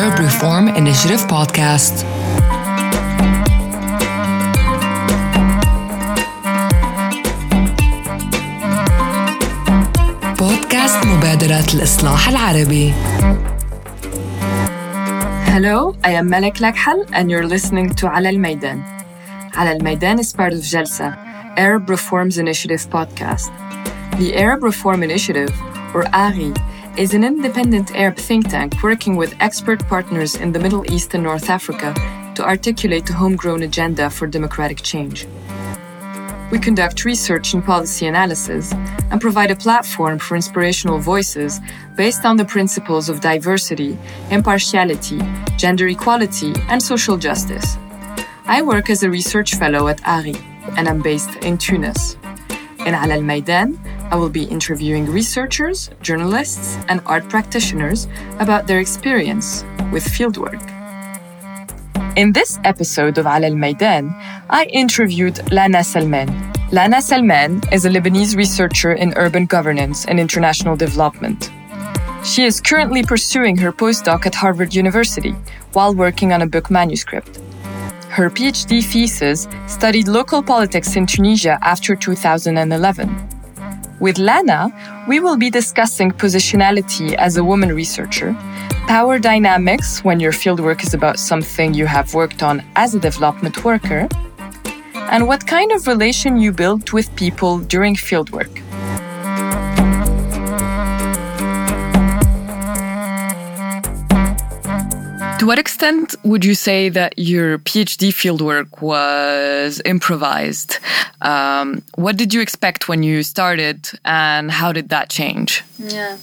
Arab Reform Initiative podcast. بودكاست مبادرة الإصلاح العربي. Hello, I am Malek Lakhal and you're listening to على الميدان. على الميدان is part of JALSA, Arab Reforms Initiative podcast. The Arab Reform Initiative, or ARI, is an independent Arab think tank working with expert partners in the Middle East and North Africa to articulate a homegrown agenda for democratic change. We conduct research and policy analysis and provide a platform for inspirational voices based on the principles of diversity, impartiality, gender equality, and social justice. I work as a research fellow at ARI, and I'm based in Tunis. In Ala al-Maidan, I will be interviewing researchers, journalists, and art practitioners about their experience with fieldwork. In this episode of Ala al-Maidan, I interviewed Lana Salman. Lana Salman is a Lebanese researcher in urban governance and international development. She is currently pursuing her postdoc at Harvard University while working on a book manuscript. Her PhD thesis studied local politics in Tunisia after 2011. With Lana, we will be discussing positionality as a woman researcher, power dynamics when your fieldwork is about something you have worked on as a development worker, and what kind of relation you build with people during fieldwork. To what extent would you say that your PhD fieldwork was improvised? What did you expect when you started, and how did that change? Yeah.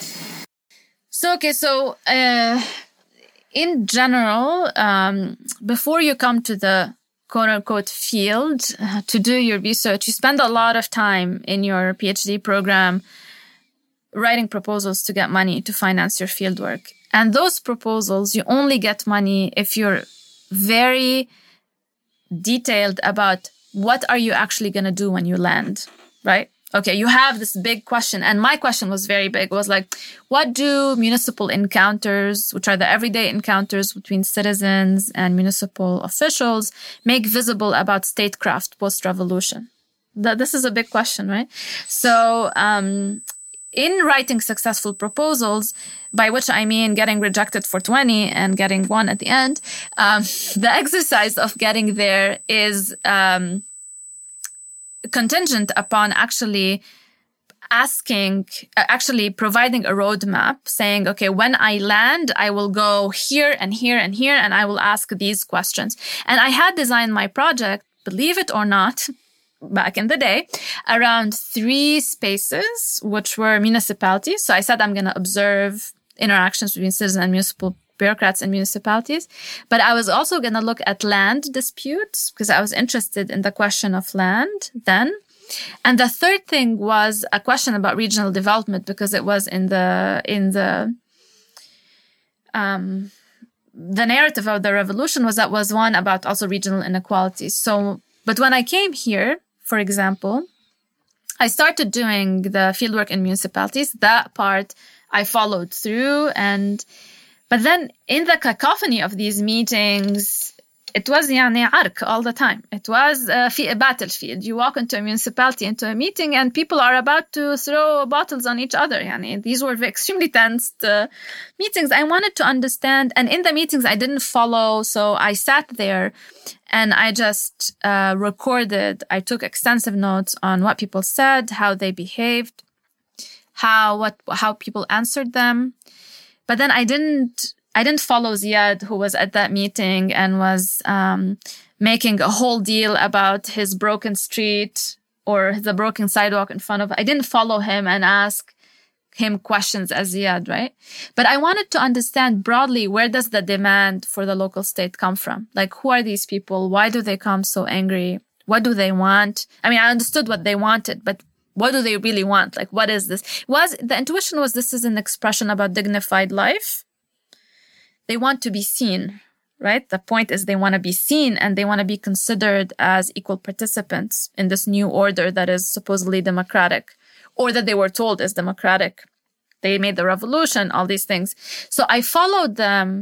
So, in general, before you come to the quote-unquote field to do your research, you spend a lot of time in your PhD program writing proposals to get money to finance your fieldwork. And those proposals, you only get money if you're very detailed about what are you actually going to do when you land, right? Okay, you have this big question. And my question was very big. It was like, what do municipal encounters, which are the everyday encounters between citizens and municipal officials, make visible about statecraft post-revolution? This is a big question, right? So, in writing successful proposals, by which I mean getting rejected for 20 and getting one at the end, the exercise of getting there is contingent upon actually providing a roadmap saying, okay, when I land, I will go here and here and here, and I will ask these questions. And I had designed my project, believe it or not, back in the day, around 3 spaces, which were municipalities. So I said I'm going to observe interactions between citizens and municipal bureaucrats and municipalities. But I was also going to look at land disputes because I was interested in the question of land then. And the third thing was a question about regional development because it was in the narrative of the revolution was one about also regional inequalities. So, but when I came here, for example, I started doing the fieldwork in municipalities. That part I followed through. But then in the cacophony of these meetings, it was arc all the time. It was a battlefield. You walk into a municipality, into a meeting, and people are about to throw bottles on each other. These were extremely tense meetings. I wanted to understand. And in the meetings, I didn't follow. So I sat there and I just recorded. I took extensive notes on what people said, how they behaved, how people answered them. But then I didn't follow Ziad, who was at that meeting and was making a whole deal about his broken street or the broken sidewalk in front of. I didn't follow him and ask him questions as Ziad, right? But I wanted to understand broadly, where does the demand for the local state come from? Like, who are these people? Why do they come so angry? What do they want? I mean, I understood what they wanted, but what do they really want? Like, what is this? The intuition was this is an expression about dignified life. They want to be seen, right? The point is they want to be seen and they want to be considered as equal participants in this new order that is supposedly democratic, or that they were told is democratic. They made the revolution, all these things. So I followed them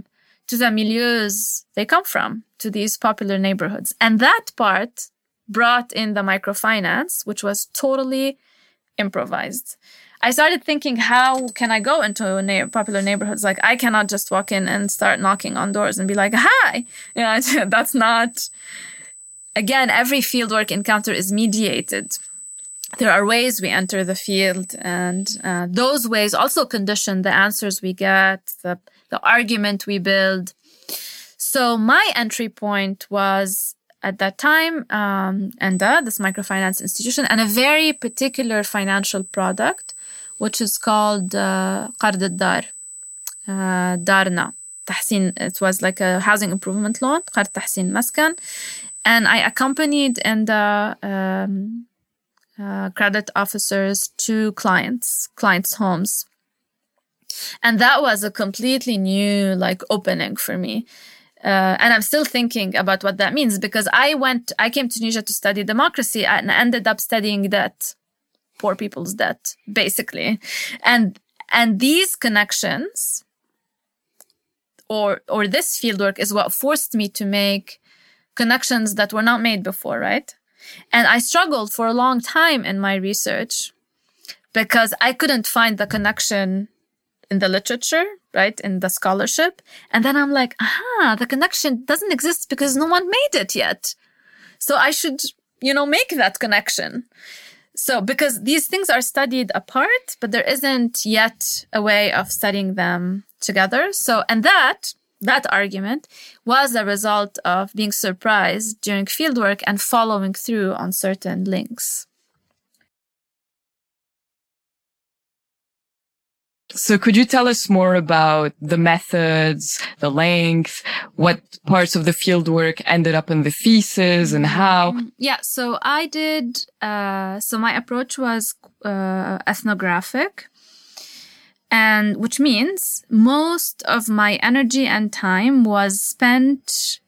to the milieus they come from, to these popular neighborhoods. And that part brought in the microfinance, which was totally improvised. I started thinking, how can I go into popular neighborhoods? Like, I cannot just walk in and start knocking on doors and be like, hi. That's not... Again, every fieldwork encounter is mediated. There are ways we enter the field, and those ways also condition the answers we get, the argument we build. So my entry point was, at that time, ENDA, this microfinance institution, and a very particular financial product, which is called قرض الدار, دارنا, تحسين. It was like a housing improvement loan, قرض تحسين مسكن. And I accompanied ENDA credit officers to clients' homes. And that was a completely new, opening for me. And I'm still thinking about what that means, because I came to Tunisia to study democracy and ended up studying debt, poor people's debt, basically. And these connections or this fieldwork is what forced me to make connections that were not made before, right? And I struggled for a long time in my research because I couldn't find the connection in the literature, right? In the scholarship. And then I'm like, the connection doesn't exist because no one made it yet. So I should, make that connection. So because these things are studied apart, but there isn't yet a way of studying them together. So, and that argument was a result of being surprised during fieldwork and following through on certain links. So could you tell us more about the methods, the length, what parts of the fieldwork ended up in the thesis and how? Yeah, so I did, so my approach was ethnographic. And which means most of my energy and time was spent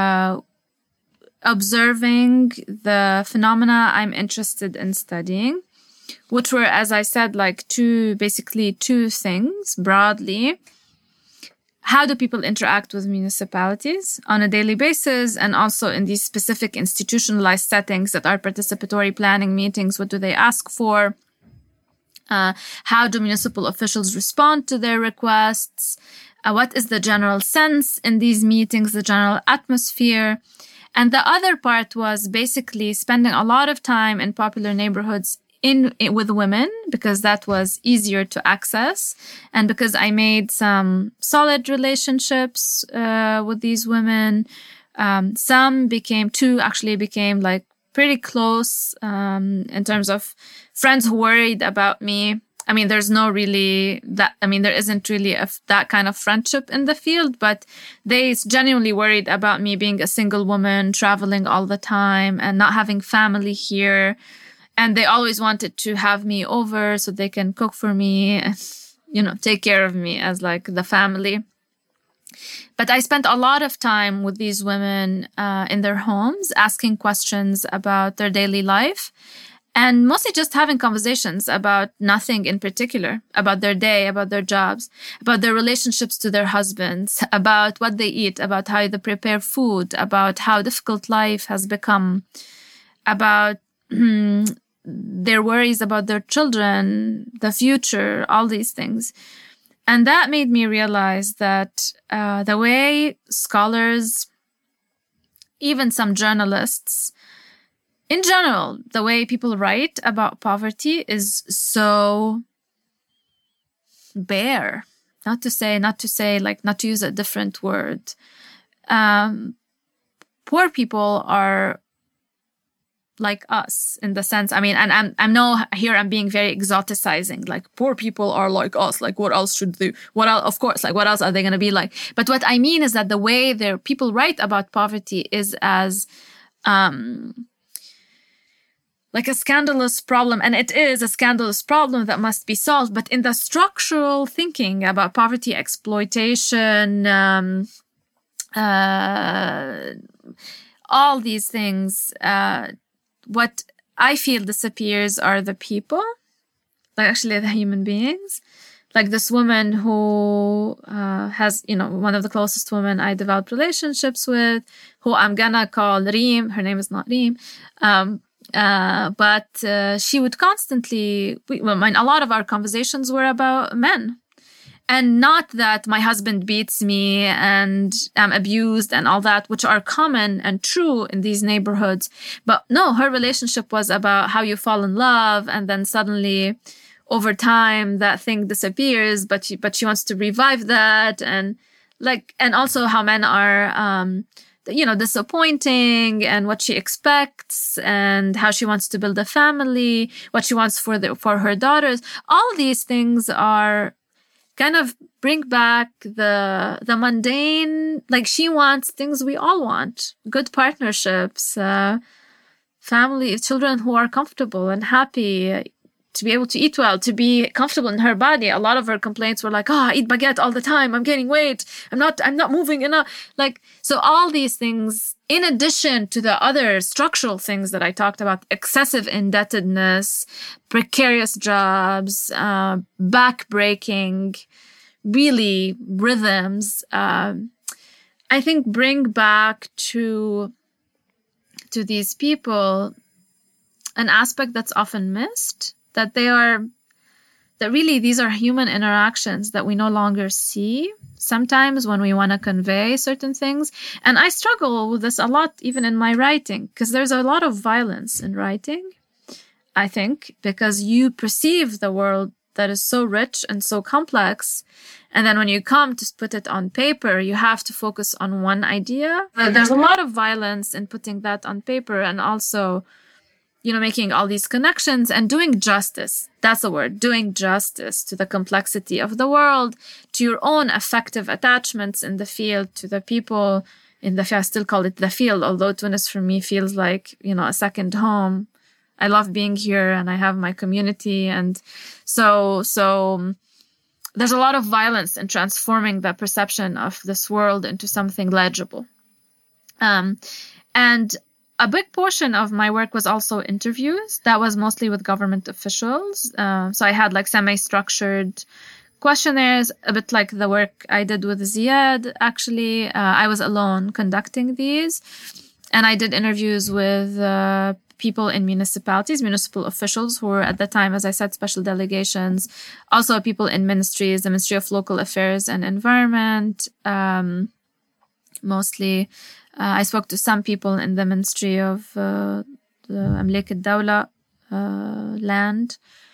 observing the phenomena I'm interested in studying, which were, as I said, basically two things broadly. How do people interact with municipalities on a daily basis, and also in these specific institutionalized settings that are participatory planning meetings? What do they ask for? How do municipal officials respond to their requests? What is the general sense in these meetings, the general atmosphere? And the other part was basically spending a lot of time in popular neighborhoods with women, because that was easier to access, and because I made some solid relationships with these women. Two actually became pretty close in terms of friends who worried about me. I mean, there isn't really that kind of friendship in the field, but they genuinely worried about me being a single woman, traveling all the time and not having family here. And they always wanted to have me over so they can cook for me and, take care of me as the family. But I spent a lot of time with these women in their homes, asking questions about their daily life, and mostly just having conversations about nothing in particular, about their day, about their jobs, about their relationships to their husbands, about what they eat, about how they prepare food, about how difficult life has become, about their worries about their children, the future, all these things. And that made me realize that the way scholars, even some journalists, in general, the way people write about poverty is so bare. Not to use a different word. Poor people are like us in the sense, and I'm being very exoticizing, poor people are like us, what else should they, what else are they going to be like? But what I mean is that the way their people write about poverty is as, a scandalous problem, and it is a scandalous problem that must be solved. But in the structural thinking about poverty, exploitation, all these things, what I feel disappears are the people, the human beings, like this woman who has, one of the closest women I developed relationships with, who I'm gonna call Reem. Her name is not Reem. But she would constantly, a lot of our conversations were about men. And not that my husband beats me and I'm abused and all that, which are common and true in these neighborhoods. But no, her relationship was about how you fall in love, and then suddenly over time that thing disappears, but she wants to revive that. And also how men are, disappointing, and what she expects, and how she wants to build a family, what she wants for her daughters. All these things are kind of bring back the mundane. Like, she wants things we all want: good partnerships, family, children who are comfortable and happy, to be able to eat well, to be comfortable in her body. A lot of her complaints were like, I eat baguette all the time, I'm gaining weight, I'm not moving enough. So all these things, in addition to the other structural things that I talked about: excessive indebtedness, precarious jobs, back-breaking, really rhythms, I think bring back to these people an aspect that's often missed, that really these are human interactions that we no longer see sometimes when we want to convey certain things. And I struggle with this a lot, even in my writing, because there's a lot of violence in writing, I think, because you perceive the world that is so rich and so complex. And then when you come to put it on paper, you have to focus on one idea. There's a lot of violence in putting that on paper, and also, making all these connections and doing justice. That's the word, doing justice to the complexity of the world, to your own affective attachments in the field, to the people in the field. I still call it the field, although Tunis for me feels like, a second home. I love being here and I have my community. And so there's a lot of violence in transforming the perception of this world into something legible. And a big portion of my work was also interviews. That was mostly with government officials. So I had semi-structured questionnaires, a bit like the work I did with Ziad, actually. I was alone conducting these. And I did interviews with people in municipalities, municipal officials who were at the time, as I said, special delegations. Also people in ministries, the Ministry of Local Affairs and Environment, mostly. I spoke to some people in the Ministry of the Amlek al-Dawla, land,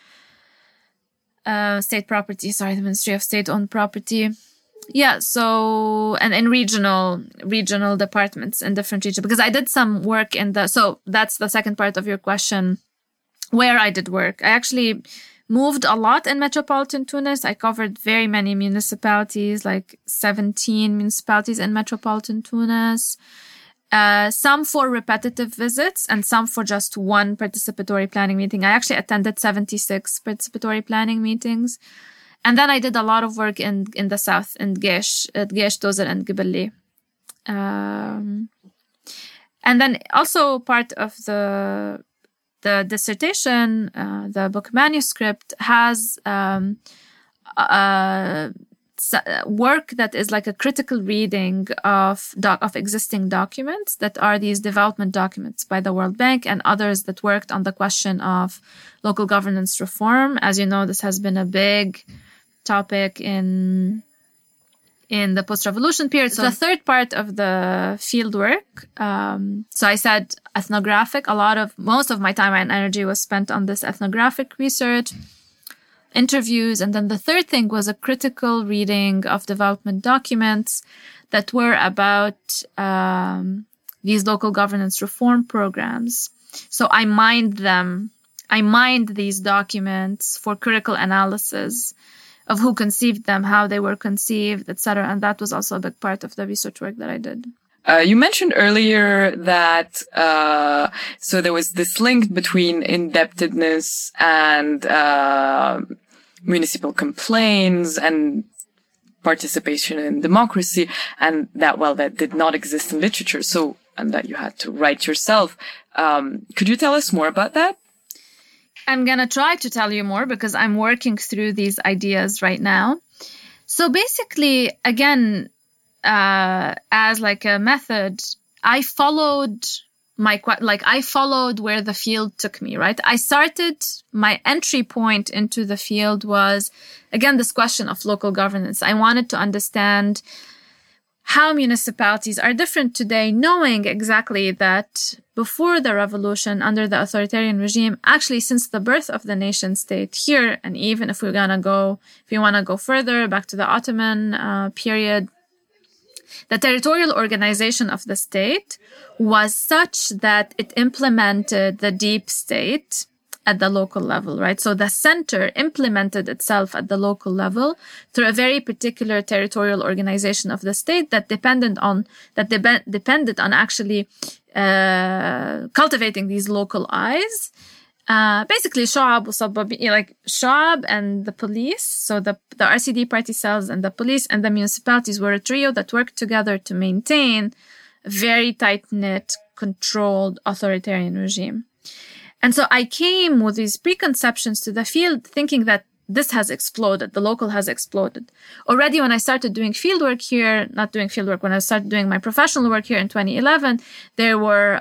state property, the Ministry of State-Owned Property. Yeah, so, and in regional departments in different regions, because I did some work so that's the second part of your question, where I did work. I actually moved a lot in metropolitan Tunis. I covered very many municipalities, like 17 municipalities in metropolitan Tunis. Some for repetitive visits and some for just one participatory planning meeting. I actually attended 76 participatory planning meetings. And then I did a lot of work in the south, in Gesh, Tozer, and Gibelli. And then also part of the dissertation, the book manuscript, has work that is like a critical reading of existing documents that are these development documents by the World Bank and others that worked on the question of local governance reform. As you know, this has been a big topic in the post-revolution period. So the third part of the field work, so I said ethnographic, most of my time and energy was spent on this ethnographic research, interviews. And then the third thing was a critical reading of development documents that were about these local governance reform programs. So I mined these documents for critical analysis of who conceived them, how they were conceived, etc. And that was also a big part of the research work that I did. You mentioned earlier that so there was this link between indebtedness and municipal complaints and participation in democracy, and that did not exist in literature. So, and that you had to write yourself. Could you tell us more about that? I'm going to try to tell you more because I'm working through these ideas right now. So basically, again, as like a method, I followed where the field took me, right? My entry point into the field was, again, this question of local governance. I wanted to understand how municipalities are different today, knowing exactly that before the revolution, under the authoritarian regime, actually since the birth of the nation state here, and even if you want to go further back to the Ottoman period, the territorial organization of the state was such that it implemented the deep state at the local level, right? So the center implemented itself at the local level through a very particular territorial organization of the state that depended on actually cultivating these local eyes. Basically, Sha'ab and the police, so the RCD party cells and the police and the municipalities were a trio that worked together to maintain a very tight-knit, controlled authoritarian regime. And so I came with these preconceptions to the field thinking that this has exploded. The local has exploded. Already when I started doing when I started doing my professional work here in 2011, there were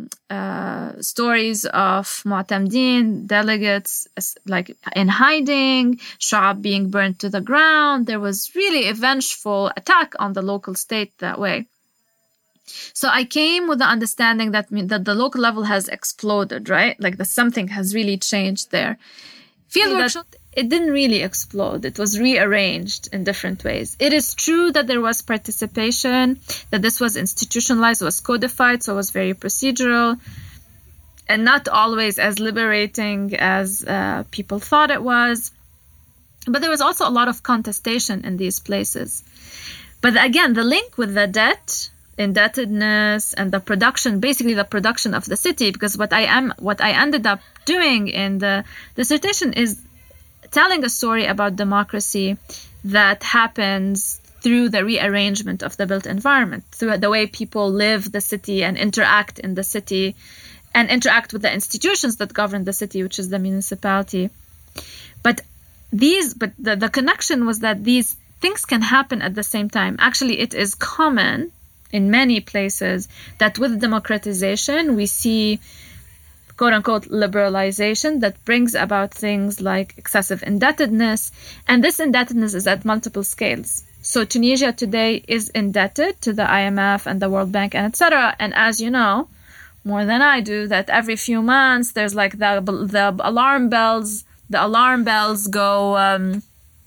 stories of Mu'tamdeen, delegates like in hiding, Sha'ab being burnt to the ground. There was really a vengeful attack on the local state that way. So I came with the understanding that the local level has exploded, right? Like that something has really changed there. Fieldwork, it didn't really explode. It was rearranged in different ways. It is true that there was participation, that this was institutionalized, was codified, so it was very procedural and not always as liberating as people thought it was. But there was also a lot of contestation in these places. But again, the link with the indebtedness and the production of the city, because what I ended up doing in the dissertation is telling a story about democracy that happens through the rearrangement of the built environment, through the way people live the city and interact in the city and interact with the institutions that govern the city, which is the municipality. But the connection was that these things can happen at the same time. Actually, it is common in many places that with democratization, we see quote-unquote liberalization that brings about things like excessive indebtedness. And this indebtedness is at multiple scales. So Tunisia today is indebted to the IMF and the World Bank and etc. And as you know, more than I do, that every few months there's like the alarm bells. The alarm bells go.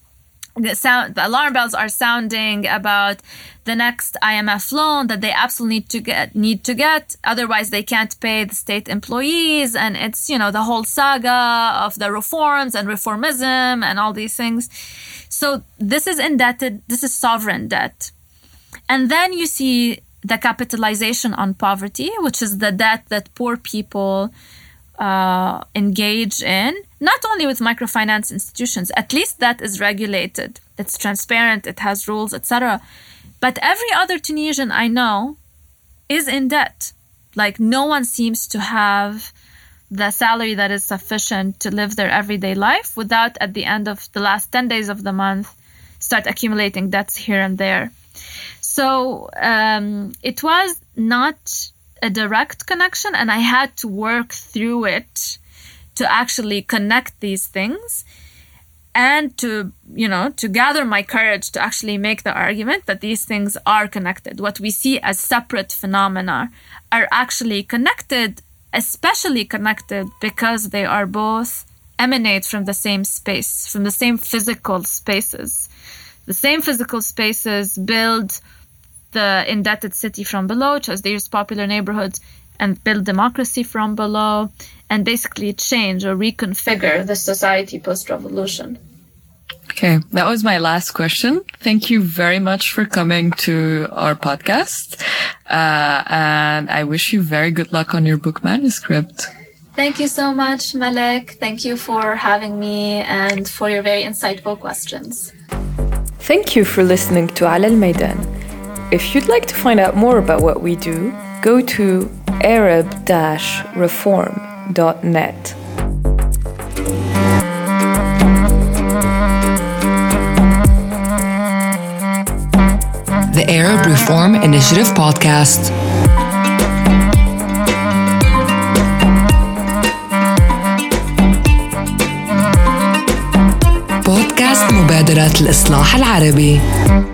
The alarm bells are sounding about the next IMF loan that they absolutely need to get. Otherwise, they can't pay the state employees. And it's, the whole saga of the reforms and reformism and all these things. So this is indebted. This is sovereign debt. And then you see the capitalization on poverty, which is the debt that poor people engage in, not only with microfinance institutions, at least that is regulated, it's transparent, it has rules, etc. But every other Tunisian I know is in debt. Like no one seems to have the salary that is sufficient to live their everyday life without at the end of the last 10 days of the month start accumulating debts here and there. So it was not a direct connection, and I had to work through it to actually connect these things and to gather my courage to actually make the argument that these things are connected. What we see as separate phenomena are actually connected, especially connected because they are both emanate from the same space, from the same physical spaces. The same physical spaces build the indebted city from below, which is these popular neighborhoods, and build democracy from below, and basically change or reconfigure the society post-revolution. Okay, that was my last question. Thank you very much for coming to our podcast. And I wish you very good luck on your book manuscript. Thank you so much, Malek. Thank you for having me and for your very insightful questions. Thank you for listening to Ala Al-Maidan. If you'd like to find out more about what we do, go to arab-reform.net. The Arab Reform Initiative Podcast. بودكاست مبادرة الإصلاح العربي.